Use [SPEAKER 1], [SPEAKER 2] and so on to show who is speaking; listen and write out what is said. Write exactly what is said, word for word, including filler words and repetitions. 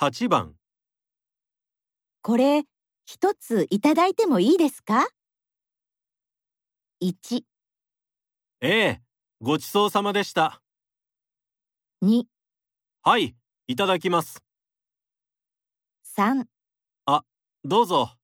[SPEAKER 1] はちばん。
[SPEAKER 2] これ、一ついただいてもいいですか？いち、
[SPEAKER 1] ええ、ごちそうさまでした。
[SPEAKER 2] に、
[SPEAKER 1] はい、いただきます。
[SPEAKER 2] さん。
[SPEAKER 1] あ、どうぞ。